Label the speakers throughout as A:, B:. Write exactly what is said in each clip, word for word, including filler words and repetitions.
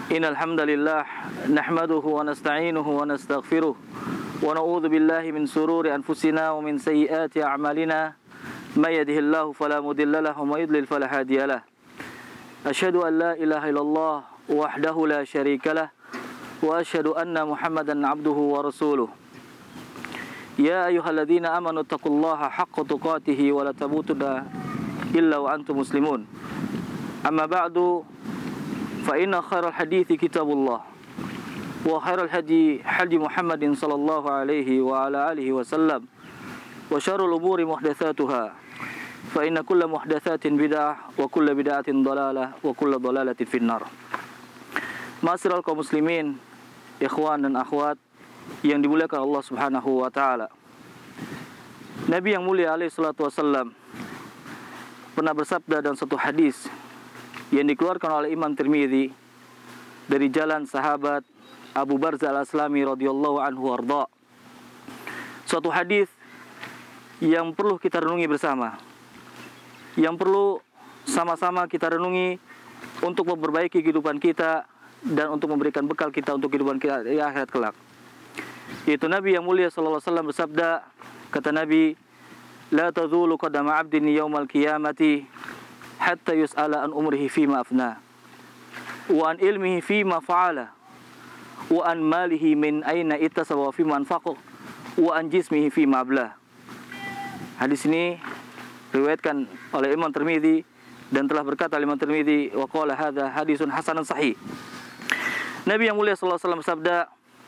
A: Innal hamdalillah nahmaduhu wa nasta'inuhu wa nastaghfiruh wa na'udzu billahi min sururi anfusina wa min sayyiati a'malina may yahdihillahu fala mudilla lahu wa may yudlil fala hadiyalah. Asyhadu an la ilaha illallah wahdahu la syarikalah wa asyhadu anna Muhammadan abduhu wa rasuluh. Ya ayyuhalladzina amanu taqullaha haqqa tuqatih wa la tamutunna illa wa antum muslimun. Amma ba'du, fa inna khairal hadithi kitabullah wa khairal hadi hadi Muhammadin sallallahu alaihi wa ala alihi wa sallam wa syarrul umuri muhdatsatuha fa inna kulla muhdatsatin bid'ah wa kulla bid'atin dhalalah wa kulla dhalalatin finnar. Ma'asyiral kaum muslimin, ikhwan dan akhwat yang dimuliakan Allah Subhanahu wa taala. Nabi yang mulia alaihi salatu wasallam pernah bersabda dalam satu hadis yang dikeluarkan oleh Imam Tirmidzi dari jalan sahabat Abu Barzah Al-Aslami radhiyallahu anhu arda. Suatu hadis yang perlu kita renungi bersama, yang perlu sama-sama kita renungi untuk memperbaiki kehidupan kita dan untuk memberikan bekal kita untuk kehidupan kita di akhirat kelak. Yaitu Nabi yang mulia sallallahu alaihi wasallam bersabda, kata Nabi, la tazulu qadama 'abdin yaumal qiyamati hatta yus'ala an umrihi fima afna wa an ilmihi fima fa'ala wa an malihi min aina ittasaba wa fima anfaqa wa an jismihi fima abla. Hadis ini diriwayatkan oleh Imam Tirmidzi dan telah berkata Imam Tirmidzi wa qala hadza hadisun hasanun sahih. Nabi yang mulia sallallahu alaihi wasallam bersabda,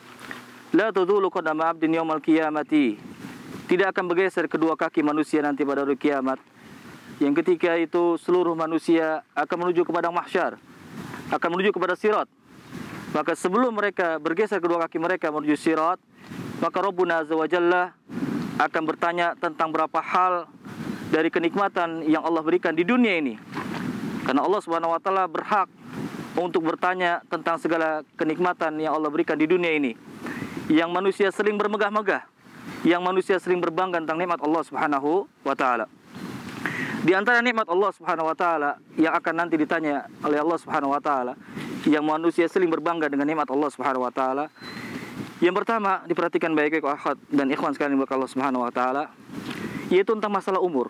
A: la tadulu qadama 'abdin yaumal qiyamati, tidak akan bergeser kedua kaki manusia nanti pada hari kiamat, yang ketika itu seluruh manusia akan menuju ke padang mahsyar, akan menuju kepada sirat. Maka sebelum mereka bergeser kedua kaki mereka menuju sirat, maka Rabbuna Azza wa Jalla akan bertanya tentang berapa hal dari kenikmatan yang Allah berikan di dunia ini. Karena Allah Subhanahu wa taala berhak untuk bertanya tentang segala kenikmatan yang Allah berikan di dunia ini, yang manusia sering bermegah-megah, yang manusia sering berbangga tentang nikmat Allah Subhanahu wa taala. Di antara nikmat Allah Subhanahu wa taala yang akan nanti ditanya oleh Allah Subhanahu wa taala, yang manusia sering berbangga dengan nikmat Allah Subhanahu wa taala, yang pertama diperhatikan baik-baik akhwat dan ikhwan sekalian yang Allah Subhanahu wa taala, yaitu tentang masalah umur.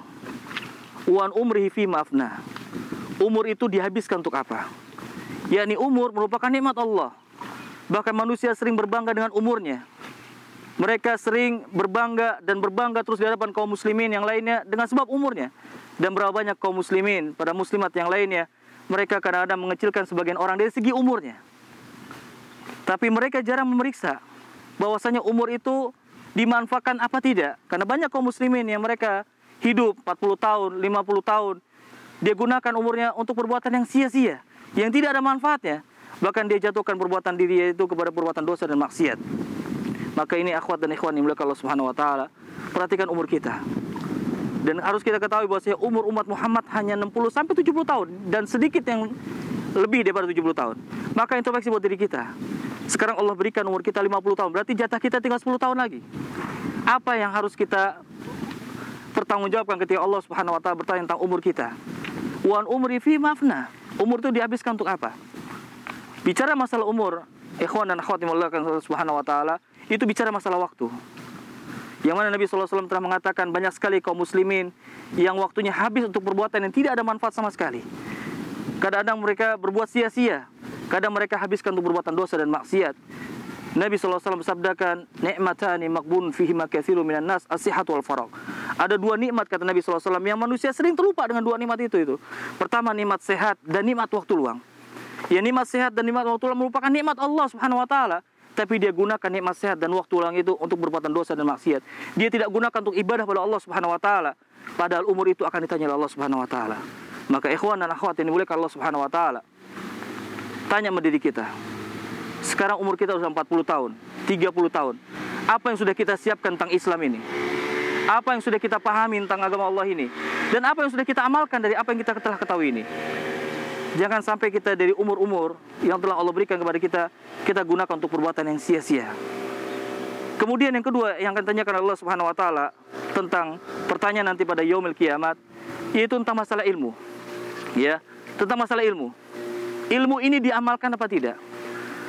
A: Wan umrihi fi mafna. Umur itu dihabiskan untuk apa? Yakni umur merupakan nikmat Allah. Bahkan manusia sering berbangga dengan umurnya. Mereka sering berbangga dan berbangga terus di hadapan kaum muslimin yang lainnya dengan sebab umurnya. Dan berapa banyak kaum muslimin, pada muslimat yang lainnya, mereka kadang-kadang mengecilkan sebagian orang dari segi umurnya. Tapi mereka jarang memeriksa bahwasanya umur itu dimanfaatkan apa tidak. Karena banyak kaum muslimin yang mereka hidup empat puluh tahun, lima puluh tahun, dia gunakan umurnya untuk perbuatan yang sia-sia, yang tidak ada manfaatnya. Bahkan dia jatuhkan perbuatan diri itu kepada perbuatan dosa dan maksiat. Maka ini akhwat dan ikhwan yang dimuliakan Allah Subhanahu wa taala, perhatikan umur kita. Dan harus kita ketahui bahwasanya umur umat Muhammad hanya enam puluh sampai tujuh puluh tahun dan sedikit yang lebih daripada tujuh puluh tahun. Maka introspeksi buat diri kita. Sekarang Allah berikan umur kita lima puluh tahun, berarti jatah kita tinggal sepuluh tahun lagi. Apa yang harus kita pertanggungjawabkan ketika Allah Subhanahu wa taala bertanya tentang umur kita? Wan umri fi mafna. Umur itu dihabiskan untuk apa? Bicara masalah umur, ikhwan dan akhwat yang dimuliakan Allah Subhanahu wa taala, itu bicara masalah waktu. Yang mana Nabi sallallahu alaihi wasallam telah mengatakan banyak sekali kaum muslimin yang waktunya habis untuk perbuatan yang tidak ada manfaat sama sekali. Kadang-kadang mereka berbuat sia-sia, kadang mereka habiskan untuk perbuatan dosa dan maksiat. Nabi sallallahu alaihi wasallam bersabdakan, "Ni'matani maqbun fihima katsirun minan nas, as-sihhatu wal faragh." Ada dua nikmat kata Nabi sallallahu alaihi wasallam yang manusia sering terlupa dengan dua nikmat itu itu. Pertama nikmat sehat dan nikmat waktu luang. Ya, nikmat sehat dan nikmat waktu luang merupakan nikmat Allah Subhanahu wa taala. Tapi dia gunakan nikmat sehat dan waktu luang itu untuk berbuatan dosa dan maksiat. Dia tidak gunakan untuk ibadah pada Allah Subhanahu wa taala. Padahal umur itu akan ditanya oleh Allah Subhanahu wa taala. Maka ikhwan dan akhwat yang dimuliakan Allah Subhanahu wa taala, tanya sama diri kita. Sekarang umur kita sudah empat puluh tahun, tiga puluh tahun. Apa yang sudah kita siapkan tentang Islam ini? Apa yang sudah kita pahami tentang agama Allah ini? Dan apa yang sudah kita amalkan dari apa yang kita telah ketahui ini? Jangan sampai kita dari umur-umur yang telah Allah berikan kepada kita, kita gunakan untuk perbuatan yang sia-sia. Kemudian yang kedua yang akan tanyakan Allah Subhanahu wa taala tentang pertanyaan nanti pada yaumil kiamat, yaitu tentang masalah ilmu. Ya, tentang masalah ilmu. Ilmu ini diamalkan apa tidak?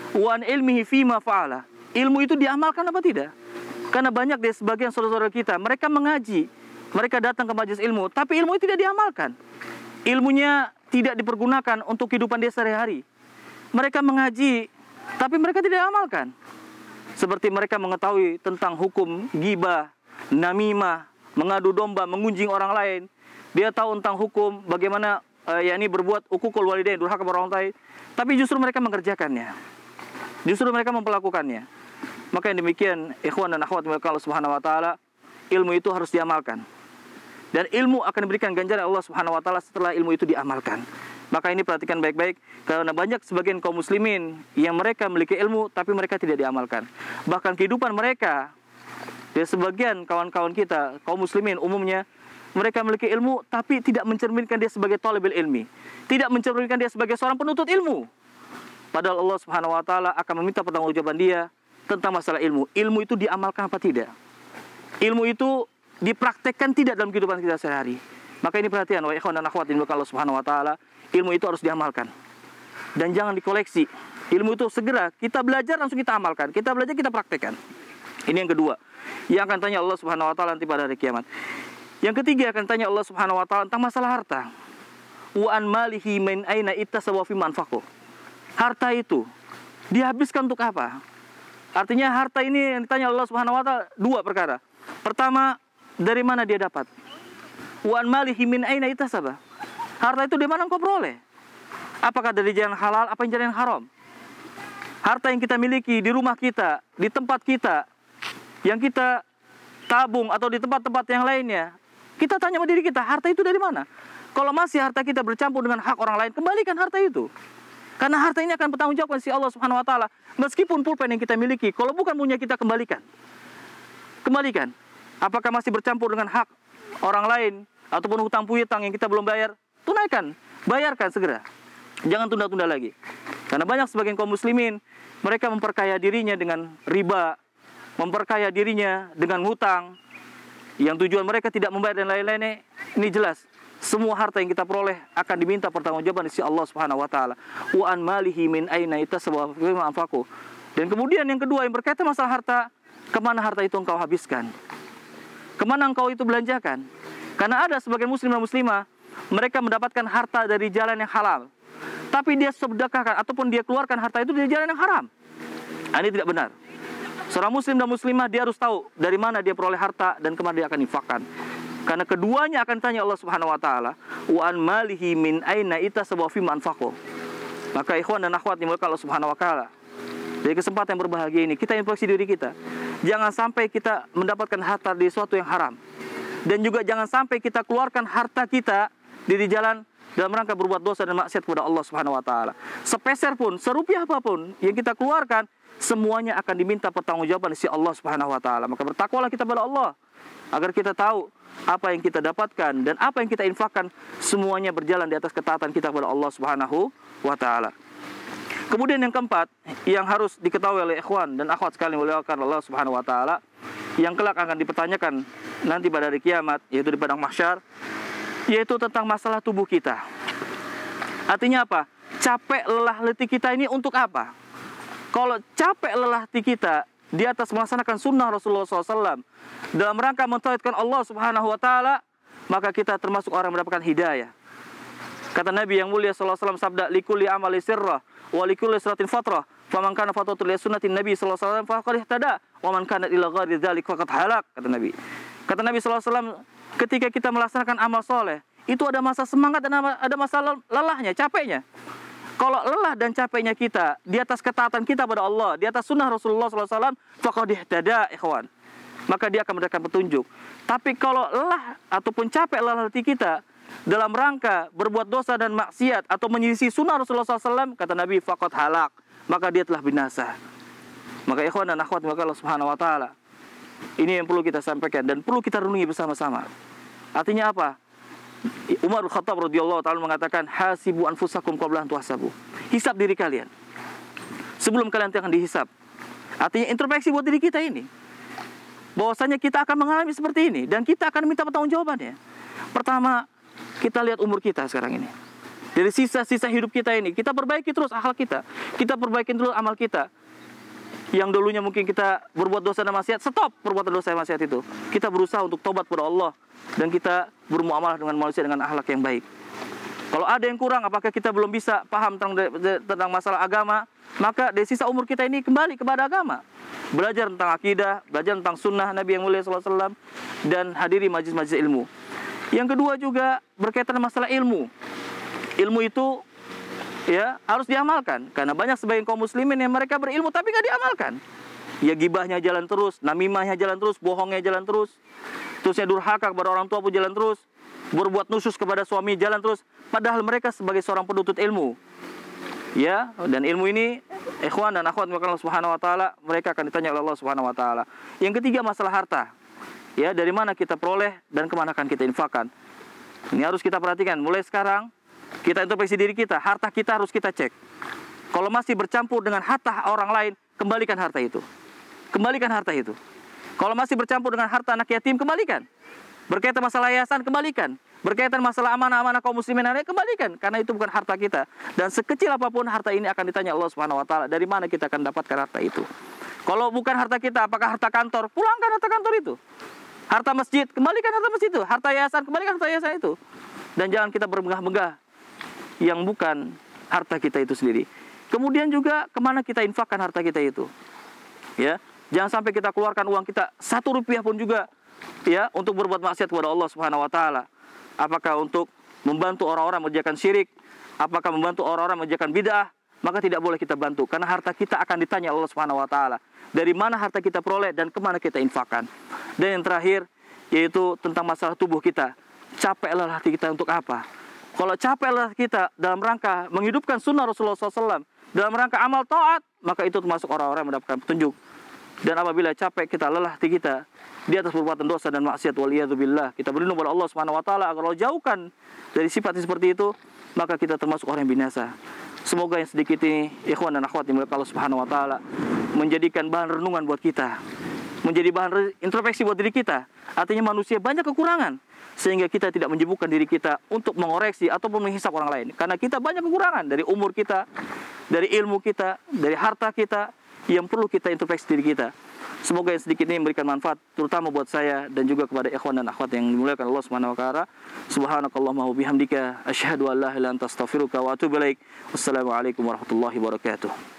A: wa an ilmihi fima fa'ala. Ilmu itu diamalkan apa tidak? Karena banyak dari sebagian saudara-saudara kita, mereka mengaji, mereka datang ke majelis ilmu, tapi ilmu itu tidak diamalkan. Ilmunya tidak dipergunakan untuk kehidupan dia sehari-hari. Mereka mengaji, tapi mereka tidak amalkan. Seperti mereka mengetahui tentang hukum ghibah, namimah, mengadu domba, mengunjing orang lain. Dia tahu tentang hukum bagaimana uh, yakni berbuat uququl walidain, durhaka kepada orang tua, tapi justru mereka mengerjakannya. Justru mereka memperlakukannya. Maka yang demikian, ikhwan dan akhwat Allah Subhanahu wa taala, ilmu itu harus diamalkan. Dan ilmu akan diberikan ganjaran Allah Subhanahu wa taala setelah ilmu itu diamalkan. Maka ini perhatikan baik-baik, karena banyak sebagian kaum muslimin yang mereka memiliki ilmu tapi mereka tidak diamalkan. Bahkan kehidupan mereka, dari sebagian kawan-kawan kita, kaum muslimin umumnya, mereka memiliki ilmu tapi tidak mencerminkan dia sebagai thalibul ilmi, tidak mencerminkan dia sebagai seorang penuntut ilmu. Padahal Allah Subhanahu wa taala akan meminta pertanggungjawaban dia tentang masalah ilmu. Ilmu itu diamalkan apa tidak? Ilmu itu dipraktekkan tidak dalam kehidupan kita sehari-hari. Maka ini perhatian, wa ikhwan dan akhwat dimiliki Allah Subhanahu wa taala, ilmu itu harus diamalkan. Dan jangan dikoleksi. Ilmu itu segera kita belajar langsung kita amalkan. Kita belajar kita praktekkan. Ini yang kedua. Yang akan tanya Allah Subhanahu wa taala nanti pada hari kiamat. Yang ketiga akan tanya Allah Subhanahu wa taala tentang masalah harta. Wa an malihi min aina ittasawa fi manfaqo. Harta itu dihabiskan untuk apa? Artinya harta ini yang ditanya Allah Subhanahu wa taala dua perkara. Pertama, dari mana dia dapat? Wa an malihi min aina itasaba. Harta itu dari mana engkau peroleh? Apakah dari jalan halal, apa yang jalan haram? Harta yang kita miliki di rumah kita, di tempat kita, yang kita tabung atau di tempat-tempat yang lainnya, kita tanya sama diri kita, harta itu dari mana? Kalau masih harta kita bercampur dengan hak orang lain, kembalikan harta itu. Karena harta ini akan bertanggung jawab si Allah Subhanahu wa taala. Meskipun pulpen yang kita miliki, kalau bukan punya kita, kembalikan. Kembalikan. Apakah masih bercampur dengan hak orang lain ataupun hutang piutang yang kita belum bayar? Tunaikan, bayarkan segera. Jangan tunda-tunda lagi. Karena banyak sebagian kaum muslimin, mereka memperkaya dirinya dengan riba, memperkaya dirinya dengan hutang, yang tujuan mereka tidak membayar dan lain-lainnya. Ini jelas. Semua harta yang kita peroleh akan diminta pertanggungjawaban dari Allah Subhanahu wa taala. Wa an malihi min aina itasaba fi anfaqu. Dan kemudian yang kedua yang berkaitan masalah harta, kemana harta itu engkau habiskan? Kemana engkau itu belanjakan? Karena ada sebagian muslim dan muslimah, mereka mendapatkan harta dari jalan yang halal, tapi dia sedekahkan ataupun dia keluarkan harta itu dari jalan yang haram. Ini tidak benar. Seorang muslim dan muslimah dia harus tahu dari mana dia peroleh harta dan kemana dia akan infakkan. Karena keduanya akan tanya Allah Subhanahu wa taala, wa an malihi min aina itasaba fi manfaqo. Maka ikhwan dan akhwat dimulai Allah Subhanahu wa taala, dari kesempatan yang berbahagia ini kita introspeksi diri kita. Jangan sampai kita mendapatkan harta dari sesuatu yang haram. Dan juga jangan sampai kita keluarkan harta kita dari jalan dalam rangka berbuat dosa dan maksiat kepada Allah Subhanahu wa taala. Sepeser pun, serupiah apapun yang kita keluarkan, semuanya akan diminta pertanggungjawaban dari Allah Subhanahu wa taala. Maka bertakwalah kita kepada Allah agar kita tahu apa yang kita dapatkan dan apa yang kita infakkan, semuanya berjalan di atas ketaatan kita kepada Allah Subhanahu wa taala. Kemudian yang keempat yang harus diketahui oleh ikhwan dan akhwat sekalian oleh Allah Subhanahu wa taala, yang kelak akan dipertanyakan nanti pada hari kiamat, yaitu di padang mahsyar, yaitu tentang masalah tubuh kita. Artinya apa? Capek lelah letih kita ini untuk apa? Kalau capek lelah letih kita di atas melaksanakan sunnah Rasulullah shallallahu alaihi wasallam dalam rangka mentauhidkan Allah Subhanahu wa taala, maka kita termasuk orang yang mendapatkan hidayah. Kata Nabi yang mulia shallallahu alaihi wasallam, sabda, likulli amali sirrah wa likulli siratin fatrah, faman kana fatratu li sunnatin Nabi sallallahu alaihi wasallam faqad ihtada wa man kana ila ghairi dzalik faqad halak. Kata Nabi. Kata Nabi sallallahu alaihi wasallam, ketika kita melaksanakan amal soleh, itu ada masa semangat dan ada masa lelahnya, capeknya. Kalau lelah dan capeknya kita di atas ketaatan kita pada Allah, di atas sunnah Rasulullah sallallahu alaihi wasallam, faqad ihtada, ikhwan, maka dia akan mendapatkan petunjuk. Tapi kalau lelah ataupun capek lelah hati kita dalam rangka berbuat dosa dan maksiat atau menyelisih sunnah Rasulullah sallallahu alaihi wasallam, kata Nabi, faqad halak, maka dia telah binasa. Maka ikhwan dan akhwat maka Allah Subhanahu wa taala, ini yang perlu kita sampaikan dan perlu kita renungi bersama-sama. Artinya apa? Umar bin Khattab radhiyallahu taala mengatakan, hasibu anfusakum qabla an tuhsabu. Hisab diri kalian sebelum kalian akan dihisab. Artinya introspeksi buat diri kita ini, bahwasanya kita akan mengalami seperti ini dan kita akan minta pertanggungjawabannya. Pertama, kita lihat umur kita sekarang ini. Dari sisa-sisa hidup kita ini, kita perbaiki terus akhlak kita. Kita perbaiki terus amal kita. Yang dulunya mungkin kita berbuat dosa dan maksiat, stop perbuatan dosa dan maksiat itu. Kita berusaha untuk tobat kepada Allah. Dan kita bermuamalah dengan manusia dengan akhlak yang baik. Kalau ada yang kurang, apakah kita belum bisa paham tentang, tentang masalah agama, maka dari sisa umur kita ini kembali kepada agama. Belajar tentang akidah, belajar tentang sunnah Nabi yang mulia sallallahu alaihi wasallam, dan hadiri majlis-majlis ilmu. Yang kedua juga berkaitan dengan masalah ilmu. Ilmu itu ya harus diamalkan, karena banyak sebagian kaum muslimin yang mereka berilmu tapi nggak diamalkan. Ya gibahnya jalan terus, namimahnya jalan terus, bohongnya jalan terus, terusnya durhaka kepada orang tua pun jalan terus, berbuat nusus kepada suami jalan terus, padahal mereka sebagai seorang penuntut ilmu. Ya, dan ilmu ini ikhwan dan akhwat Allah Subhanahu wa taala, mereka akan ditanya oleh Allah Subhanahu wa taala. Yang ketiga masalah harta. Ya, dari mana kita peroleh dan kemana akan kita infakkan. Ini harus kita perhatikan mulai sekarang. Kita introspeksi diri kita, harta kita harus kita cek. Kalau masih bercampur dengan harta orang lain, kembalikan harta itu. Kembalikan harta itu. Kalau masih bercampur dengan harta anak yatim, kembalikan. Berkaitan masalah yayasan, kembalikan. Berkaitan masalah amanah-amanah kaum muslimin, kembalikan. Karena itu bukan harta kita. Dan sekecil apapun harta ini akan ditanya Allah Subhanahu wa taala, dari mana kita akan dapatkan harta itu. Kalau bukan harta kita, apakah harta kantor? Pulangkan harta kantor itu. Harta masjid, kembalikan harta masjid itu. Harta yayasan, kembalikan harta yayasan itu. Dan jangan kita bermegah-megah yang bukan harta kita itu sendiri. Kemudian juga kemana kita infakkan harta kita itu. Ya, jangan sampai kita keluarkan uang kita satu rupiah pun juga ya untuk berbuat maksiat kepada Allah Subhanahu wa taala. Apakah untuk membantu orang-orang mengerjakan syirik, apakah membantu orang-orang mengerjakan bid'ah, maka tidak boleh kita bantu karena harta kita akan ditanya Allah Subhanahu wa taala. Dari mana harta kita peroleh dan kemana kita infakkan. Dan yang terakhir yaitu tentang masalah tubuh kita. Capek lelah hati kita untuk apa? Kalau capek lelah kita dalam rangka menghidupkan sunnah Rasulullah shallallahu alaihi wasallam, dalam rangka amal taat, maka itu termasuk orang-orang yang mendapatkan petunjuk. Dan apabila capek kita, lelah hati kita di atas perbuatan dosa dan maksiat, waliyadzubillah, kita berlindung kepada Allah Subhanahu wa taala agar Allah jauhkan dari sifat seperti itu, maka kita termasuk orang yang binasa. Semoga yang sedikit ini ikhwan dan akhwat yang dimuliakan Allah Subhanahu wa taala menjadikan bahan renungan buat kita, menjadi bahan introspeksi buat diri kita. Artinya manusia banyak kekurangan, sehingga kita tidak menyibukkan diri kita untuk mengoreksi ataupun menghisap orang lain. Karena kita banyak kekurangan dari umur kita, dari ilmu kita, dari harta kita, yang perlu kita introspeksi diri kita. Semoga yang sedikit ini memberikan manfaat, terutama buat saya dan juga kepada ikhwan dan akhwat yang dimuliakan Allah Subhanahu wa taala. Subhanakallahumma wa bihamdika asyhadu an la ilaha illa anta astaghfiruka wa atubu ilaik. Wassalamualaikum warahmatullahi wabarakatuh.